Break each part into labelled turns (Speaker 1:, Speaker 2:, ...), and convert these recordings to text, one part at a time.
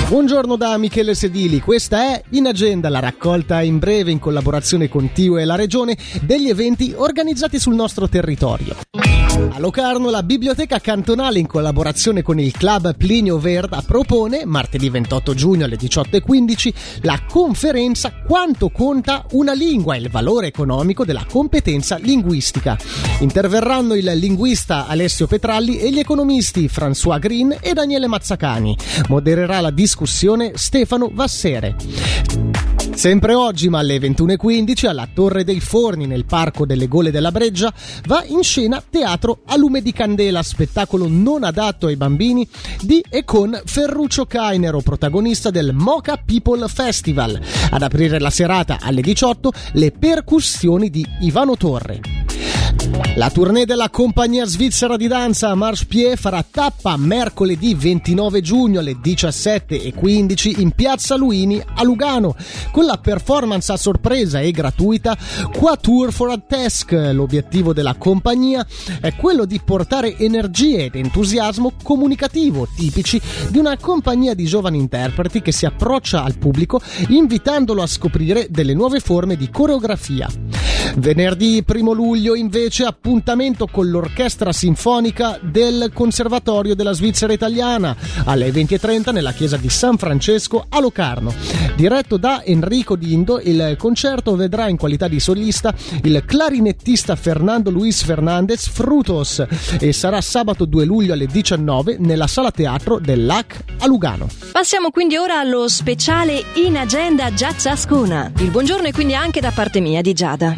Speaker 1: Buongiorno da Michele Sedili, questa è In Agenda, la raccolta in breve in collaborazione con TIU e la Regione degli eventi organizzati sul nostro territorio. A Locarno la Biblioteca Cantonale in collaborazione con il Club Plinio Verda propone, martedì 28 giugno alle 18:15, la conferenza Quanto conta una lingua e il valore economico della competenza linguistica. Interverranno il linguista Alessio Petralli e gli economisti François Green e Daniele Mazzacani. Modererà la discussione Stefano Vassere. Sempre oggi, ma alle 21:15, alla Torre dei Forni, nel Parco delle Gole della Breggia, va in scena Teatro a lume di candela, spettacolo non adatto ai bambini di e con Ferruccio Cainero, protagonista del Mocha People Festival. Ad aprire la serata alle 18, le percussioni di Ivano Torre. La tournée della compagnia svizzera di danza Marche Pied farà tappa mercoledì 29 giugno alle 17:15 in Piazza Luini a Lugano con la performance a sorpresa e gratuita Quatuor for a Task. L'obiettivo della compagnia è quello di portare energie ed entusiasmo comunicativo tipici di una compagnia di giovani interpreti che si approccia al pubblico invitandolo a scoprire delle nuove forme di coreografia. Venerdì 1 luglio invece appuntamento con l'Orchestra Sinfonica del Conservatorio della Svizzera Italiana alle 20:30 nella chiesa di San Francesco a Locarno. Diretto da Enrico Dindo, il concerto vedrà in qualità di solista il clarinettista Fernando Luis Fernandez Frutos e sarà sabato 2 luglio alle 19 nella sala teatro del LAC a Lugano.
Speaker 2: Passiamo quindi ora allo speciale In Agenda Giazza Ascona. Il buongiorno è quindi anche da parte mia di Giada.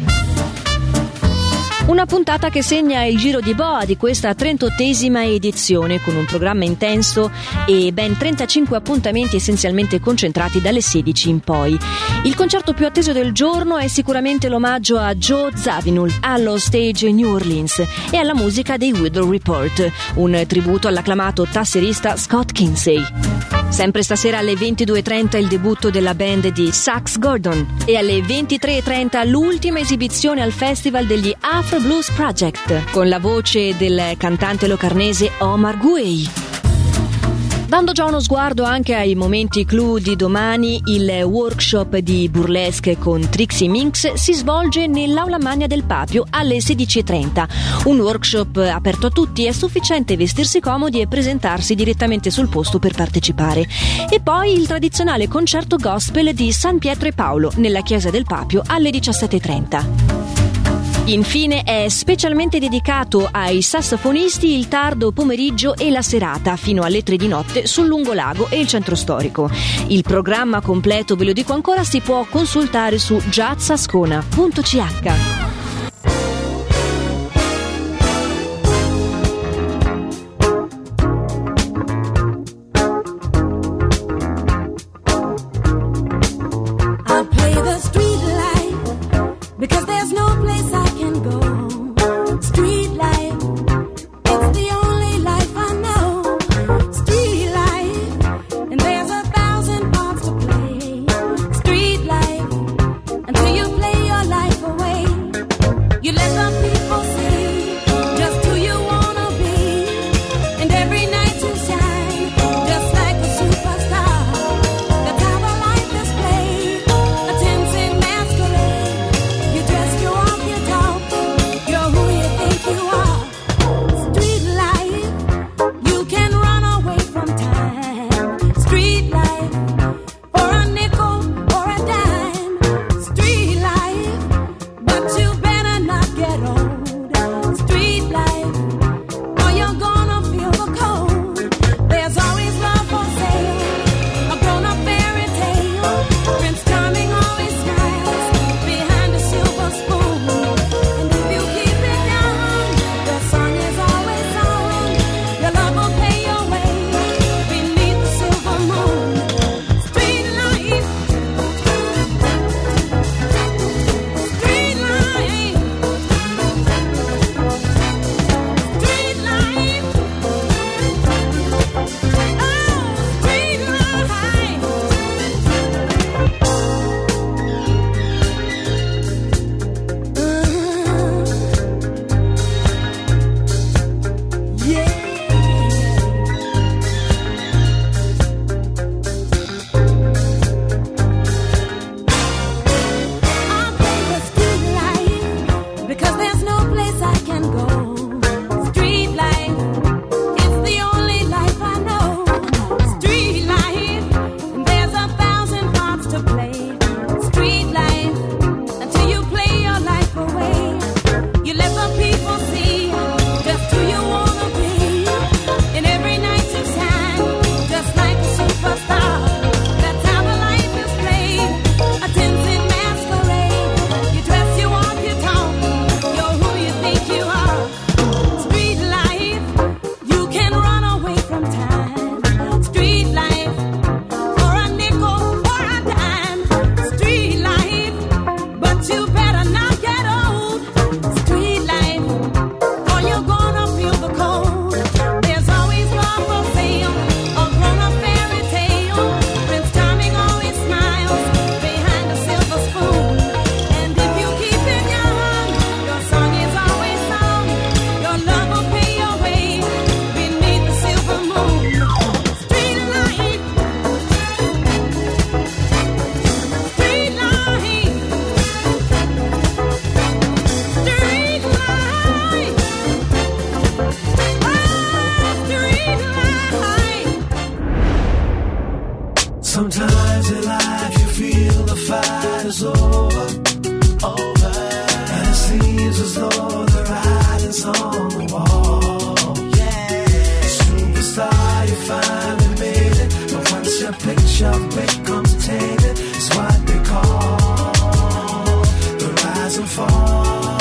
Speaker 2: Una puntata che segna il giro di boa di questa 38esima edizione, con un programma intenso e ben 35 appuntamenti essenzialmente concentrati dalle 16 in poi. Il concerto più atteso del giorno è sicuramente l'omaggio a Joe Zawinul allo Stage New Orleans e alla musica dei Weather Report, un tributo all'acclamato tasserista Scott Kinsey. Sempre stasera alle 22:30 il debutto della band di Sax Gordon e alle 23:30 l'ultima esibizione al Festival degli Afro Blues Project con la voce del cantante locarnese Omar Gueye. Dando già uno sguardo anche ai momenti clou di domani, il workshop di burlesque con Trixie Minx si svolge nell'Aula Magna del Papio alle 16:30. Un workshop aperto a tutti, è sufficiente vestirsi comodi e presentarsi direttamente sul posto per partecipare. E poi il tradizionale concerto gospel di San Pietro e Paolo nella chiesa del Papio alle 17:30. Infine è specialmente dedicato ai sassofonisti il tardo pomeriggio e la serata fino alle 3 di notte sul Lungolago e il centro storico. Il programma completo, ve lo dico ancora, si può consultare su jazzascona.ch.
Speaker 3: Because there's no place I can go. Street life, it's the only life I know. Street life, and there's 1,000 parts to play. Street life, until you play your life away.
Speaker 4: Sometimes in life you feel the fight is over, and it seems as though the writing's on the wall. Yeah, superstar, you finally made it, but once your picture becomes tainted, it's what they call the rise and fall.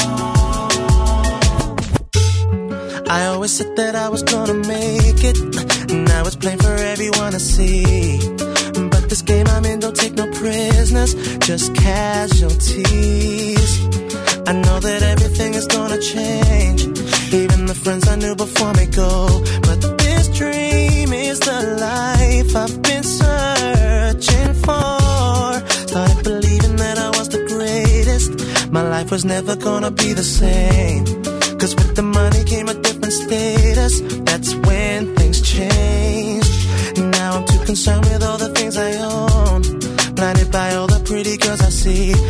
Speaker 4: I always said that I was gonna make it, now it's plain for everyone to see. But this game I'm in don't take no prisoners, just casualties. I know that everything is gonna change, even the friends I knew before me go. But this dream is the life I've been searching for. Started believing that I was the greatest, my life was never gonna be the same. Cause with the money came a different status, that's when things changed. Now I'm too concerned with all the things I own, blinded by all the pretty girls I see.